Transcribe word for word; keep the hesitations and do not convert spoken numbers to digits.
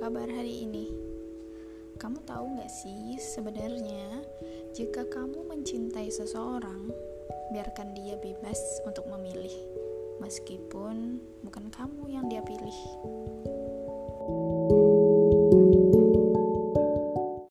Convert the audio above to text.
kabar hari ini? Kamu tahu gak sih, sebenarnya jika kamu mencintai seseorang, biarkan dia bebas untuk memilih, meskipun bukan kamu yang dia pilih.